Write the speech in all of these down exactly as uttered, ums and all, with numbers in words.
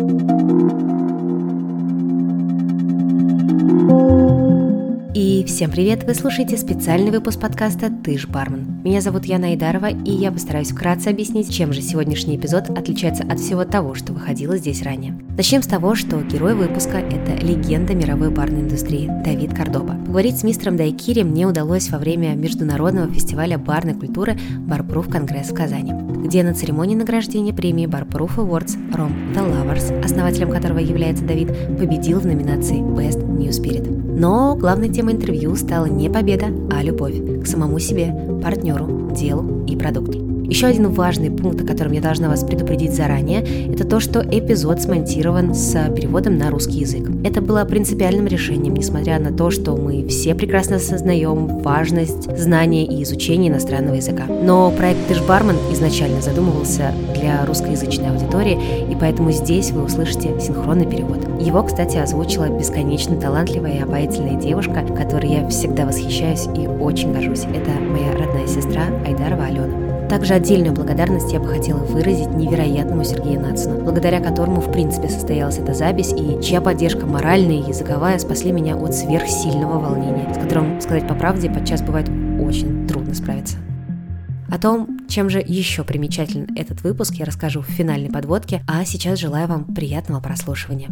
И всем привет! Вы слушаете специальный выпуск подкаста «Ты ж бармен». Меня зовут Яна Айдарова, и я постараюсь вкратце объяснить, чем же сегодняшний эпизод отличается от всего того, что выходило здесь ранее. Начнем с того, что герой выпуска – это легенда мировой барной индустрии Давид Кордоба. Поговорить с мистером Дайкири мне удалось во время международного фестиваля барной культуры Barproof Конгресс в Казани, где на церемонии награждения премии Barproof Awards Rom The Lovers, основателем которого является Давид, победил в номинации Best New Spirit. Но главной темой интервью стала не победа, а любовь к самому себе, партнеру, делу и продукту. Еще один важный пункт, о котором я должна вас предупредить заранее, это то, что эпизод смонтирован с переводом на русский язык. Это было принципиальным решением, несмотря на то, что мы все прекрасно осознаем важность знания и изучения иностранного языка. Но проект «Ты ж бармен» изначально задумывался для русскоязычной аудитории, и поэтому здесь вы услышите синхронный перевод. Его, кстати, озвучила бесконечно талантливая и обаятельная девушка, которой я всегда восхищаюсь и очень горжусь. Это моя родная сестра Айдарова Алена. Также отдельную благодарность я бы хотела выразить невероятному Сергею Нацину, благодаря которому в принципе состоялась эта запись и чья поддержка моральная и языковая спасли меня от сверхсильного волнения, с которым, сказать по правде, подчас бывает очень трудно справиться. О том, чем же еще примечателен этот выпуск, я расскажу в финальной подводке, а сейчас желаю вам приятного прослушивания.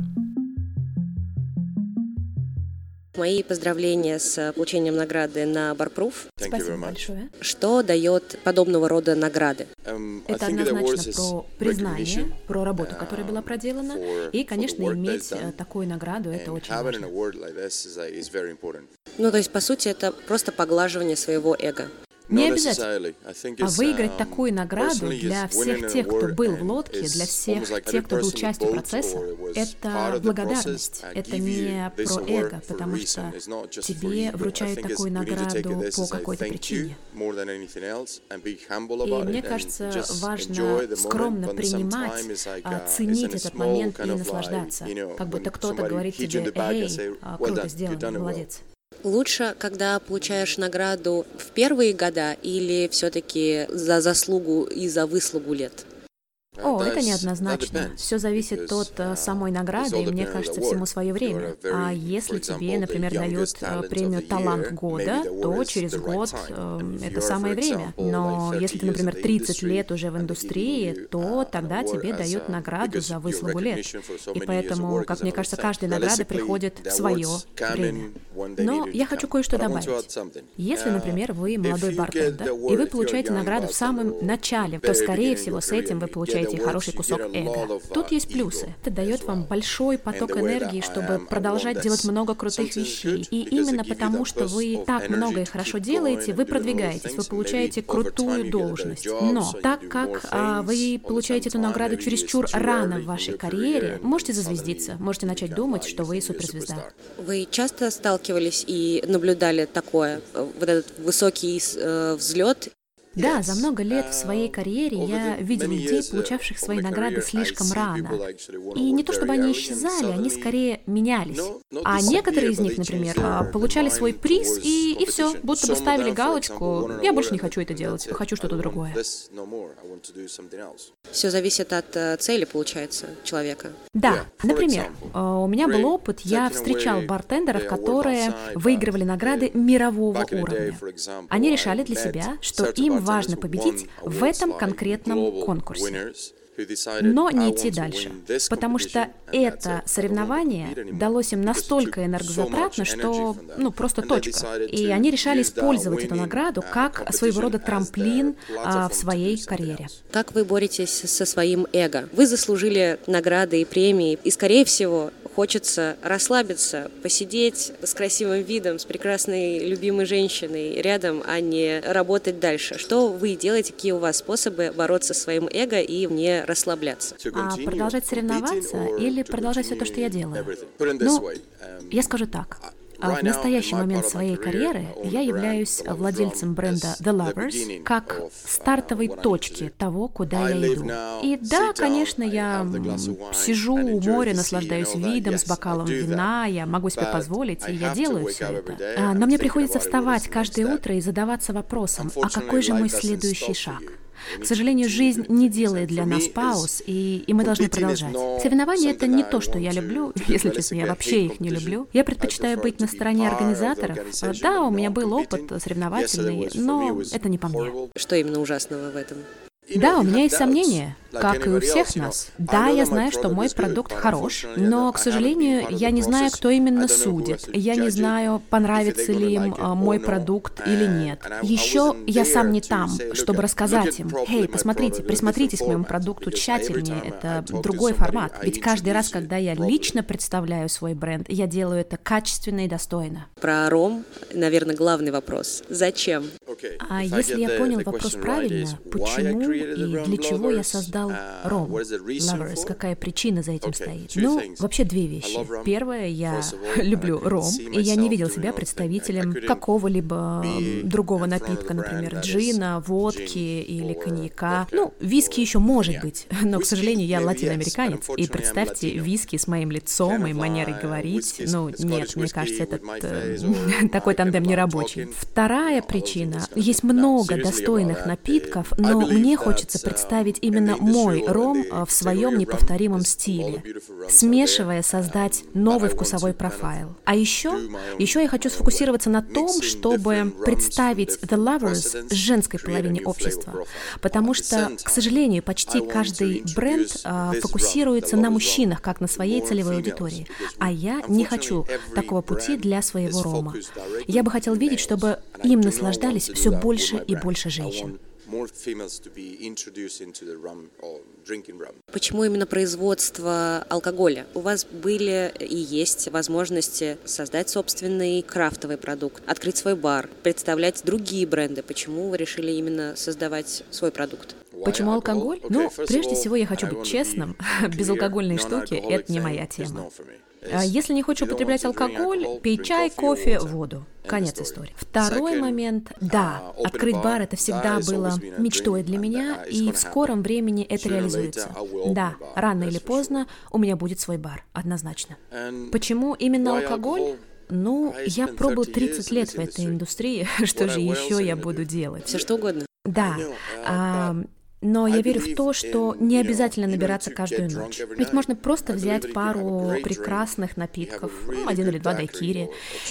Мои поздравления с получением награды на Barproof. Спасибо большое. Что дает подобного рода награды? Это однозначно про признание, про работу, которая была проделана, и, конечно, иметь такую награду – это очень важно. Ну, то есть, по сути, это просто поглаживание своего эго. Не обязательно. А выиграть такую награду для всех тех, кто был в лодке, для всех тех, кто был частью процесса, это благодарность. Это не про эго, потому что тебе вручают такую награду по какой-то причине. И мне кажется, важно скромно принимать, ценить этот момент и наслаждаться. Как будто кто-то говорит тебе: «Эй, круто сделано, молодец». Лучше, когда получаешь награду в первые года или все-таки за заслугу и за выслугу лет? О, это неоднозначно. Все зависит от самой награды, и мне кажется, всему свое время. А если тебе, например, дают премию «Талант года», то через год э, это самое время. Но если ты, например, тридцать лет уже в индустрии, то тогда тебе дают награду за выслугу лет. И поэтому, как мне кажется, каждая награда приходит в свое время. Но я хочу кое-что добавить. Если, например, вы молодой бартендер, и вы получаете награду в самом начале, то, скорее всего, с этим вы получаете хороший кусок эго. Тут есть плюсы. Это дает вам большой поток энергии, чтобы продолжать делать много крутых вещей. И именно потому, что вы так много и хорошо делаете, вы продвигаетесь, вы получаете крутую должность. Но так как а, вы получаете эту награду чересчур рано в вашей карьере, можете зазвездиться, можете начать думать, что вы суперзвезда. Вы часто сталкивались и наблюдали такое, вот этот высокий э, взлет? Да, за много лет в своей карьере я видел людей, получавших свои награды слишком рано. И не то чтобы они исчезали, они скорее менялись. А некоторые из них, например, получали свой приз и, и все, будто бы ставили галочку: «Я больше не хочу это делать, хочу что-то другое». Все зависит от цели, получается, человека. Да, например, у меня был опыт, я встречал бартендеров, которые выигрывали награды мирового уровня. Они решали для себя, что им важно победить в этом конкретном конкурсе, но не идти дальше, потому что это соревнование далось им настолько энергозатратно, что, ну, просто точка. И они решали использовать эту награду как своего рода трамплин а, в своей карьере. Как вы боретесь со своим эго? Вы заслужили награды и премии, и, скорее всего, хочется расслабиться, посидеть с красивым видом, с прекрасной любимой женщиной рядом, а не работать дальше. Что вы делаете, какие у вас способы бороться со своим эго и не расслабляться? А продолжать соревноваться или продолжать все то, что я делаю? Ну, я скажу так. А в настоящий момент своей карьеры я являюсь владельцем бренда The Lovers как стартовой точки того, куда я иду. И да, конечно, я сижу у моря, наслаждаюсь видом с бокалом вина, я могу себе позволить, и я делаю все это. Но мне приходится вставать каждое утро и задаваться вопросом: а какой же мой следующий шаг? К сожалению, жизнь не делает для нас пауз, и, и мы должны продолжать. Соревнования — это не то, что я люблю. Если честно, я вообще их не люблю. Я предпочитаю быть на стороне организаторов. Да, у меня был опыт соревновательный, но это не по мне. Что именно ужасного в этом? Да, у меня есть сомнения, как и у всех нас. Да, я знаю, что мой продукт хорош, но, к сожалению, я не знаю, кто именно судит. Я не знаю, понравится ли им мой продукт или нет. Еще я сам не там, чтобы рассказать им: «Эй, посмотрите, присмотритесь к моему продукту тщательнее, это другой формат». Ведь каждый раз, когда я лично представляю свой бренд, я делаю это качественно и достойно. Про ром, наверное, главный вопрос. Зачем? А если я понял вопрос правильно, почему и для чего я создал ром, Lovers, какая причина за этим стоит? Ну, вообще две вещи. Первое, я люблю ром, и я не видел себя представителем какого-либо другого напитка, например, джина, водки или коньяка. Ну, виски еще может быть, но, к сожалению, я латиноамериканец, и представьте, виски с моим лицом и манерой говорить, ну, нет, мне кажется, этот э, такой тандем не рабочий. Вторая причина, есть много достойных напитков, но мне хочется представить именно мой ром в своем неповторимом стиле, смешивая, создать новый вкусовой профайл. А еще, еще я хочу сфокусироваться на том, чтобы представить The Lovers женской половине общества, потому что, к сожалению, почти каждый бренд а, фокусируется на мужчинах, как на своей целевой аудитории, а я не хочу такого пути для своего рома. Я бы хотел видеть, чтобы им наслаждались все больше и больше женщин. Почему именно производство алкоголя? У вас были и есть возможности создать собственный крафтовый продукт, открыть свой бар, представлять другие бренды. Почему вы решили именно создавать свой продукт? Почему алкоголь? Ну, прежде всего, я хочу быть честным. Безалкогольные штуки — это не моя тема. Если не хочешь употреблять алкоголь, пей чай, кофе, воду. Конец истории. Второй момент. Да, открыть бар — это всегда было мечтой для меня, и в скором времени это реализуется. Да, рано или поздно у меня будет свой бар, однозначно. Почему именно алкоголь? Ну, я пробыл тридцать лет в этой индустрии, что же еще я буду делать? Все что угодно. Да. А, но я верю в то, что не обязательно набираться каждую ночь. Ведь можно просто взять пару прекрасных напитков, ну, один или два дайкири,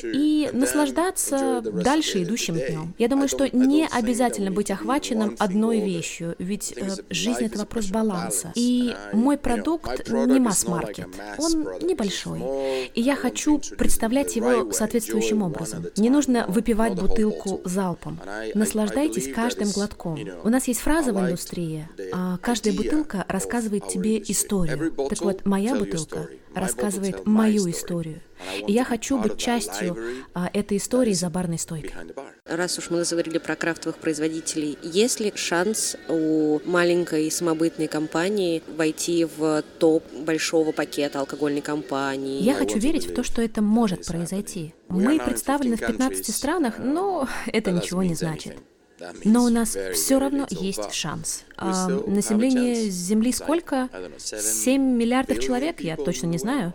и наслаждаться дальше идущим днем. Я думаю, что не обязательно быть охваченным одной вещью, ведь э, жизнь — это вопрос баланса. И мой продукт не масс-маркет, он небольшой. И я хочу представлять его соответствующим образом. Не нужно выпивать бутылку залпом. Наслаждайтесь каждым глотком. У нас есть фраза в индустрии: а каждая бутылка рассказывает тебе историю. Так вот, моя бутылка рассказывает мою историю. И я хочу быть частью а, этой истории за барной стойкой. Раз уж мы заговорили про крафтовых производителей, есть ли шанс у маленькой самобытной компании войти в топ большого пакета алкогольной компании? Я хочу верить в то, что это может произойти. Мы представлены в пятнадцати странах, но это ничего не значит. Но у нас все равно есть шанс. А население Земли сколько? семь миллиардов человек, я точно не знаю.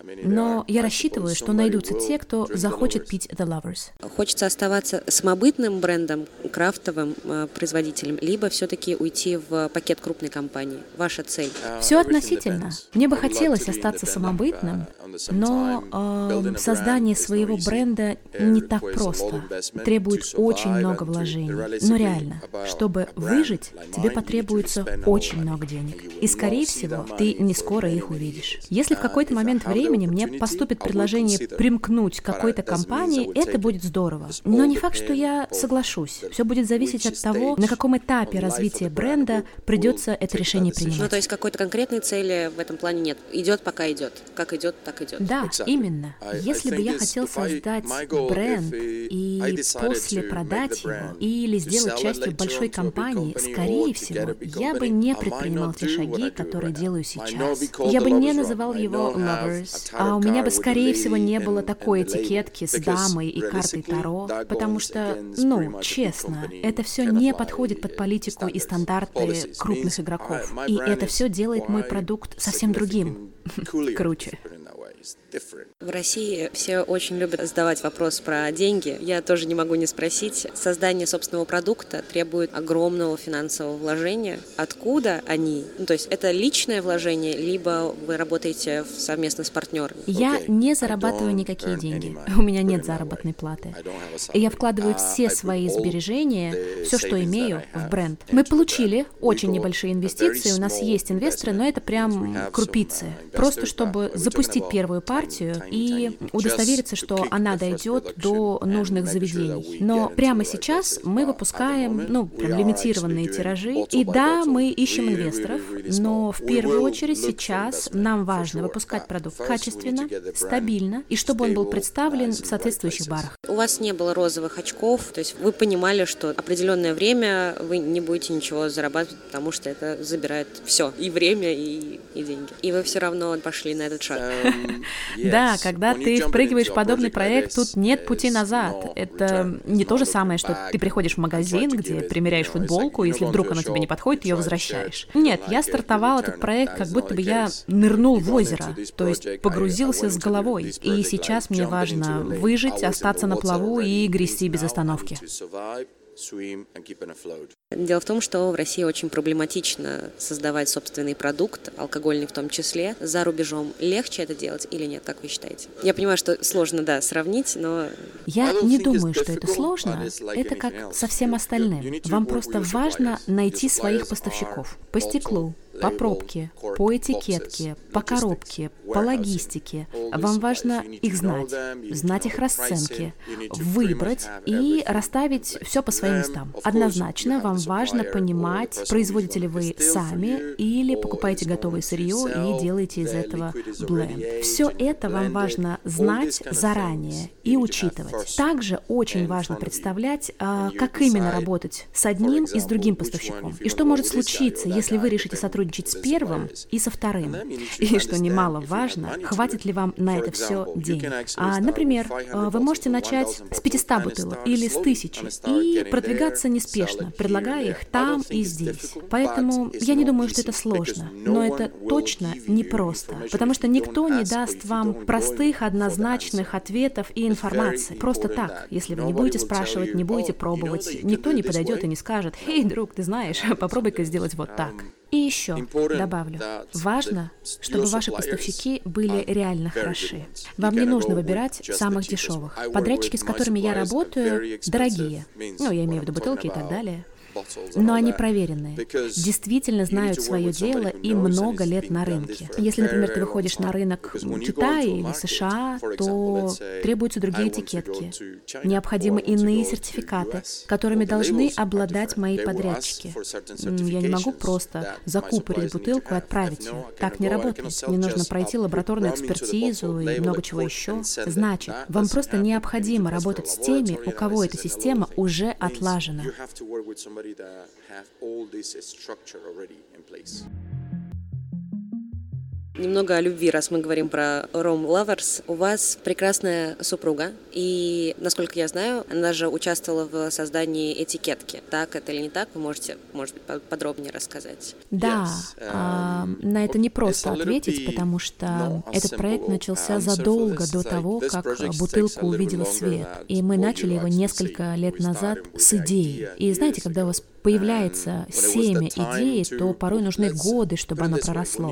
Но я рассчитываю, что найдутся те, кто захочет пить The Lovers. Хочется оставаться самобытным брендом, крафтовым э, производителем, либо все-таки уйти в пакет крупной компании? Ваша цель? Все относительно. Мне бы хотелось остаться самобытным, но э, создание своего бренда не так просто. Требует очень много вложений. Но реально, чтобы выжить, тебе потребуется очень много денег. И, скорее всего, ты не скоро их увидишь. Если в какой-то момент времени мне поступит предложение примкнуть к какой-то компании, это будет здорово. Но не факт, что я соглашусь. Все будет зависеть от того, на каком этапе развития бренда придется это решение принимать. Ну, то есть какой-то конкретной цели в этом плане нет. Идет, пока идет. Как идет, так идет. Да, именно. Если бы я хотел создать бренд и после продать его или сделать частью большой компании, скорее всего, я бы не предпринимал те шаги, которые делаю сейчас. Я бы не называл его Lovers, а у меня бы, скорее всего, не было такой этикетки с дамой и картой Таро, потому что, ну, честно, это все не подходит под политику и стандарты крупных игроков. И это все делает мой продукт совсем другим, круче. В России все очень любят задавать вопрос про деньги. Я тоже не могу не спросить. Создание собственного продукта требует огромного финансового вложения. Откуда они? Ну, то есть это личное вложение, либо вы работаете совместно с партнерами? Я не зарабатываю никакие деньги. У меня нет заработной платы. Я вкладываю все свои сбережения, все, что имею, в бренд. Мы получили очень небольшие инвестиции, у нас есть инвесторы, но это прям крупицы. Просто чтобы запустить первую партию и удостовериться, что она дойдет до нужных заведений. Но прямо сейчас мы выпускаем, ну, прям лимитированные тиражи. И да, мы ищем инвесторов, но в первую очередь сейчас нам важно выпускать продукт качественно, стабильно, и чтобы он был представлен в соответствующих барах. У вас не было розовых очков, то есть вы понимали, что определенное время вы не будете ничего зарабатывать, потому что это забирает все, и время, и, и деньги. И вы все равно пошли на этот шаг. Да, когда ты впрыгиваешь в подобный проект, тут нет пути назад. Это не то же самое, что ты приходишь в магазин, где примеряешь футболку, и если вдруг она тебе не подходит, ее возвращаешь. Нет, я стартовал этот проект, как будто бы я нырнул в озеро, то есть погрузился с головой. И сейчас мне важно выжить, остаться на плаву и грести без остановки. Дело в том, что в России очень проблематично создавать собственный продукт, алкогольный в том числе. За рубежом легче это делать или нет, как вы считаете? Я понимаю, что сложно, да, сравнить, но... Я не думаю, что это сложно. Это как со всем остальным. Вам просто важно найти своих поставщиков по стеклу, по пробке, по этикетке, по коробке, по логистике. Вам важно их знать, знать их расценки, выбрать и расставить все по своим местам. Однозначно вам важно понимать, производите ли вы сами или покупаете готовое сырье и делаете из этого бленд. Все это вам важно знать заранее и учитывать. Также очень важно представлять, как именно работать с одним и с другим поставщиком. И что может случиться, если вы решите сотрудничать с первым и со вторым. И, что немаловажно, хватит ли вам на это все денег. А, например, вы можете начать с пятисот бутылок или с тысячи и продвигаться неспешно, предлагая их там и здесь. Поэтому я не думаю, что это сложно, но это точно непросто, потому что никто не даст вам простых, однозначных ответов и информации. Просто так, если вы не будете спрашивать, не будете пробовать, никто не подойдет и не скажет: «Эй, друг, ты знаешь, попробуй-ка сделать вот так». И еще добавлю, важно, чтобы ваши поставщики были реально хороши. Вам не нужно выбирать самых дешевых. Подрядчики, с которыми я работаю, дорогие. Ну, я имею в виду бутылки и так далее. Но они проверенные, действительно знают свое дело и много лет на рынке. Если, например, ты выходишь на рынок Китая или США, то требуются другие этикетки. Необходимы иные сертификаты, которыми должны обладать мои подрядчики. Я не могу просто закупорить бутылку и отправить ее. Так не работает. Мне нужно пройти лабораторную экспертизу и много чего еще. Значит, вам просто необходимо работать с теми, у кого эта система уже отлажена. that have all this structure already in place. Немного о любви, раз мы говорим про Rum Lovers. У вас прекрасная супруга, и, насколько я знаю, она же участвовала в создании этикетки. Так это или не так? Вы можете, может быть, подробнее рассказать? Да, а, на это не просто ответить, потому что этот проект начался задолго до того, как бутылка увидела свет. И мы начали его несколько лет назад с идеи. И знаете, когда у вас появляется семя идеи, то порой нужны годы, чтобы оно проросло.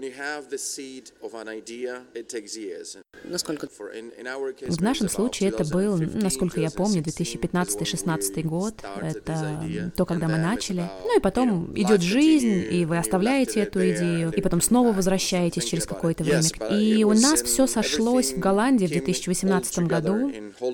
Насколько? В нашем случае это был, насколько я помню, две тысячи пятнадцатый — две тысячи шестнадцатый год. Это то, когда мы начали. Ну и потом идет жизнь, и вы оставляете эту идею, и потом снова возвращаетесь через какое-то время. И у нас все сошлось в Голландии в две тысячи восемнадцатом году.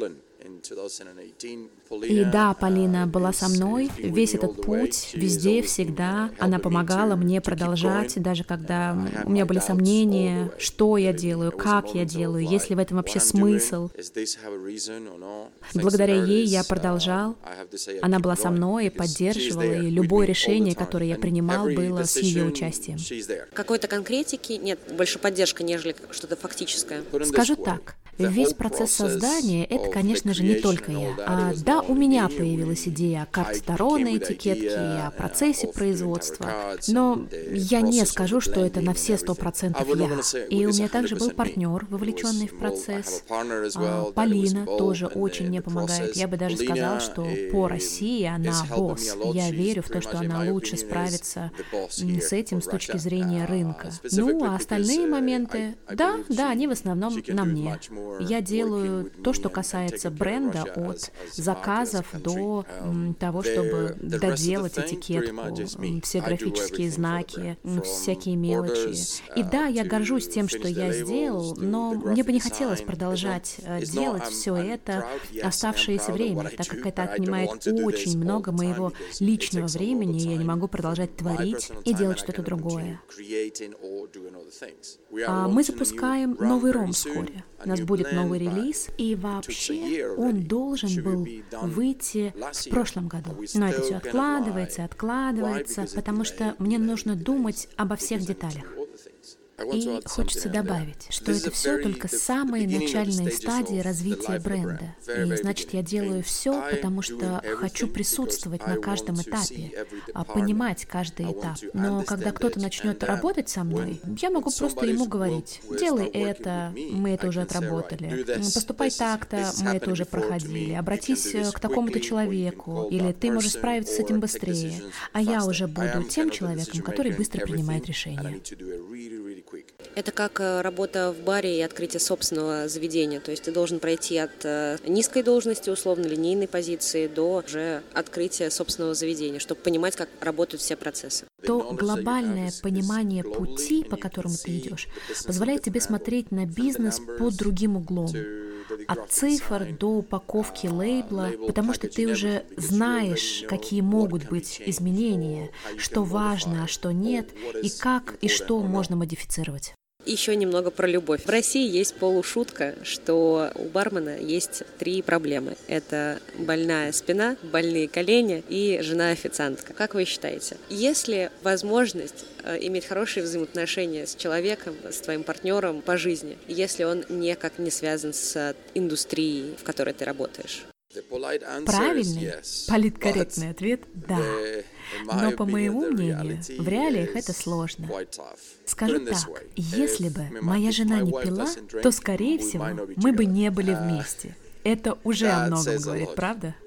И да, Полина была со мной весь этот путь, везде, всегда. Она помогала мне продолжать, даже когда у меня были сомнения, что я делаю, как я делаю, есть ли в этом вообще смысл. Благодаря ей я продолжал. Она была со мной и поддерживала, и любое решение, которое я принимал, было с ее участием. Какой-то конкретики нет, больше поддержка, нежели что-то фактическое. Скажу так. Весь процесс создания — это, конечно же, не только я. А, да, у меня появилась идея карт Таро на этикетке, о процессе производства, но я не скажу, что это на все сто процентов я. И у меня также был партнер, вовлеченный в процесс. А, Полина тоже очень мне помогает. Я бы даже сказала, что по России она босс. Я верю в то, что она лучше справится с этим с точки зрения рынка. Ну, а остальные моменты, да, да, они в основном на мне. Я делаю то, что касается бренда, от заказов до м, того, чтобы доделать этикетку, все графические знаки, всякие мелочи. И да, я горжусь тем, что я сделал, но мне бы не хотелось продолжать делать все это оставшееся время, так как это отнимает очень много моего личного времени, и я не могу продолжать творить и делать что-то другое. А мы запускаем новый ром вскоре. У нас будет новый релиз, и вообще он должен был выйти в прошлом году. Но это все откладывается, откладывается, потому что мне нужно думать обо всех деталях. И хочется добавить, что это все только самые начальные стадии развития бренда. И значит, я делаю все, потому что хочу присутствовать на каждом этапе, понимать каждый этап. Но когда кто-то начнет работать со мной, я могу просто ему говорить: делай это, мы это уже отработали, поступай так-то, мы это уже проходили, обратись к такому-то человеку, или ты можешь справиться с этим быстрее. А я уже буду тем человеком, который быстро принимает решения. Это как работа в баре и открытие собственного заведения. То есть ты должен пройти от низкой должности, условно-линейной позиции, до уже открытия собственного заведения, чтобы понимать, как работают все процессы. То глобальное понимание пути, по которому ты идешь, позволяет тебе смотреть на бизнес под другим углом. От цифр до упаковки лейбла, потому что ты уже знаешь, какие могут быть изменения, что важно, а что нет, и как и что можно модифицировать. Еще немного про любовь. В России есть полушутка, что у бармена есть три проблемы. Это больная спина, больные колени и жена-официантка. Как вы считаете, есть ли возможность иметь хорошие взаимоотношения с человеком, с твоим партнером по жизни, если он никак не связан с индустрией, в которой ты работаешь? Правильный, политкорректный ответ – да. Но, по моему мнению, в реалиях это сложно. Скажу так, если бы моя жена не пила, то, скорее всего, мы бы не были вместе. Это уже о многом говорит, правда?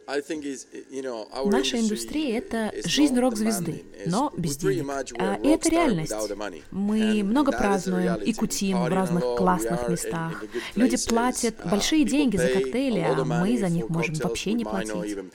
Наша индустрия — это жизнь рок-звезды, но без денег. А это реальность. Мы много празднуем и кутим в разных классных местах. Люди платят большие деньги за коктейли, а мы за них можем вообще не платить.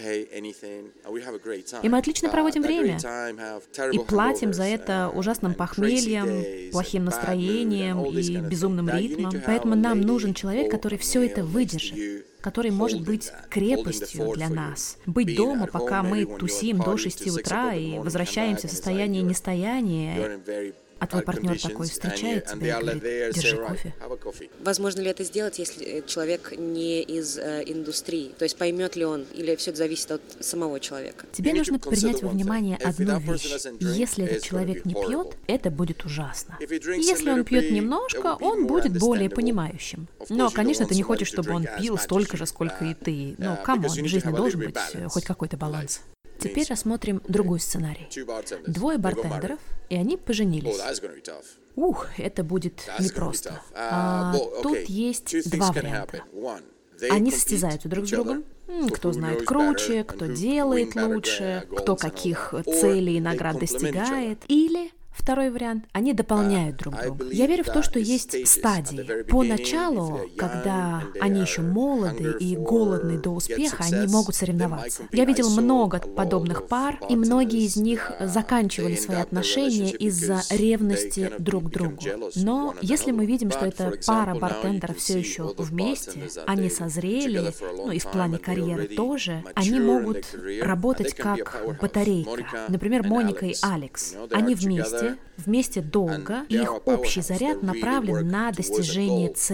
И мы отлично проводим время. И платим за это ужасным похмельем, плохим настроением и безумным ритмом. Поэтому нам нужен человек, который все это выдержит, который может быть крепостью для нас. Быть дома, пока мы тусим до шести утра и возвращаемся в состояние нестояния, а твой партнер такой встречает тебя и говорит: держи кофе. Возможно ли это сделать, если человек не из э, индустрии? То есть поймет ли он, или все это зависит от самого человека? Тебе нужно принять во внимание одну вещь. Если этот человек не пьет, это будет ужасно. Если он пьет немножко, он будет более понимающим. Но, конечно, ты не хочешь, чтобы он пил столько же, сколько и ты. Но, камон, в жизни должен быть хоть какой-то баланс. Теперь рассмотрим другой сценарий. Двое бартендеров, и они поженились. Ух, это будет непросто. А, тут есть два варианта. Они состязаются друг с другом. Кто знает круче, кто делает лучше, кто каких целей и наград достигает. Или... Второй вариант – они дополняют друг друга. Я верю в то, что есть стадии. Поначалу, когда они еще молоды и голодны до успеха, они могут соревноваться. Я видел много подобных пар, и многие из них заканчивали свои отношения из-за ревности друг к другу. Но если мы видим, что эта пара бартендеров все еще вместе, они созрели, ну и в плане карьеры тоже, они могут работать как батарейка. Например, Моника и Алекс. Они вместе, вместе долго, и их общий заряд направлен на достижение цели.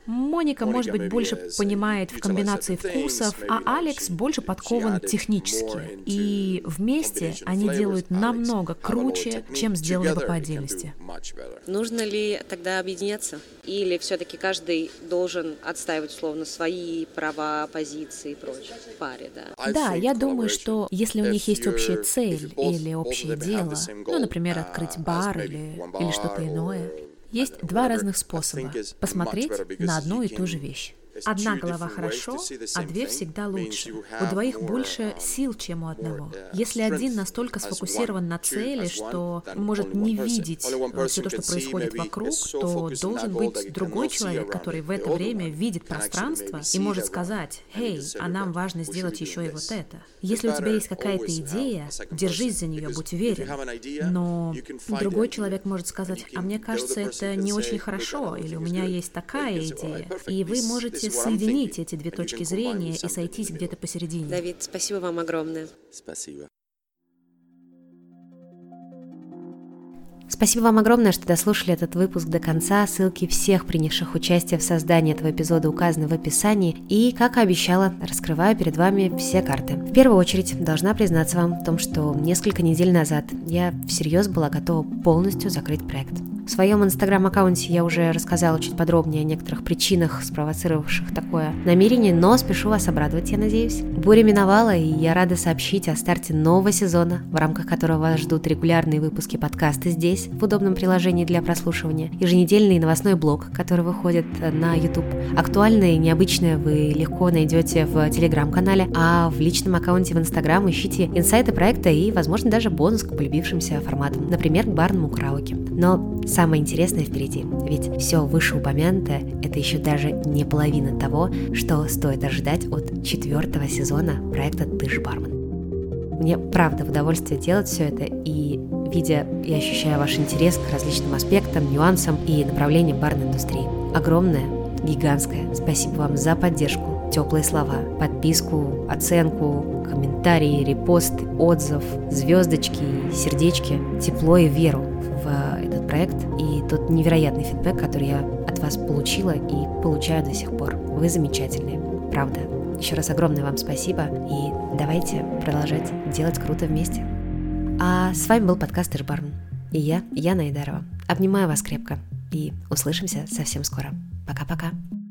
Моника, может быть, больше понимает в комбинации вкусов, а Алекс больше подкован технически. И вместе они делают намного круче, чем сделали бы по отдельности. Нужно ли тогда объединяться? Или все-таки каждый должен отстаивать, условно, свои права, позиции и прочее в паре, да? Да, я думаю, что если у них есть общая цель или общее дело, ну, например, открыть бар или, или что-то иное, есть два разных способа посмотреть на одну и ту же вещь. Одна голова хорошо, а две всегда лучше. У двоих больше сил, чем у одного. Если один настолько сфокусирован на цели, что может не видеть все то, что происходит вокруг, то должен быть другой человек, который в это время видит пространство и может сказать: «Эй, а нам важно сделать еще и вот это». Если у тебя есть какая-то идея, держись за нее, будь уверен. Но другой человек может сказать: «А мне кажется, это не очень хорошо», или «У меня есть такая идея». И вы можете соединить эти две точки зрения и сойтись где-то посередине. Давид, спасибо вам огромное. Спасибо. Спасибо вам огромное, что дослушали этот выпуск до конца. Ссылки всех принявших участие в создании этого эпизода указаны в описании. И, как и обещала, раскрываю перед вами все карты. В первую очередь, должна признаться вам в том, что несколько недель назад я всерьез была готова полностью закрыть проект. В своем инстаграм-аккаунте я уже рассказала чуть подробнее о некоторых причинах, спровоцировавших такое намерение, но спешу вас обрадовать, я надеюсь. Буря миновала, и я рада сообщить о старте нового сезона, в рамках которого вас ждут регулярные выпуски подкаста здесь, в удобном приложении для прослушивания, еженедельный новостной блог, который выходит на YouTube. Актуальное и необычное вы легко найдете в Телеграм-канале, а в личном аккаунте в Инстаграм ищите инсайты проекта и, возможно, даже бонус к полюбившимся форматам, например, к барному караоке. Но самое интересное впереди, ведь все вышеупомянутое – это еще даже не половина того, что стоит ожидать от четвертого сезона проекта «Ты ж бармен». Мне правда в удовольствие делать все это, и видя и ощущая ваш интерес к различным аспектам, нюансам и направлениям барной индустрии. Огромное, гигантское спасибо вам за поддержку, теплые слова, подписку, оценку, комментарии, репост, отзыв, звездочки, сердечки, тепло и веру в этот проект и тот невероятный фидбэк, который я от вас получила и получаю до сих пор. Вы замечательные, правда. Еще раз огромное вам спасибо, и давайте продолжать делать круто вместе. А с вами был подкаст «Ты ж бармен». И я, Яна Айдарова. Обнимаю вас крепко и услышимся совсем скоро. Пока-пока.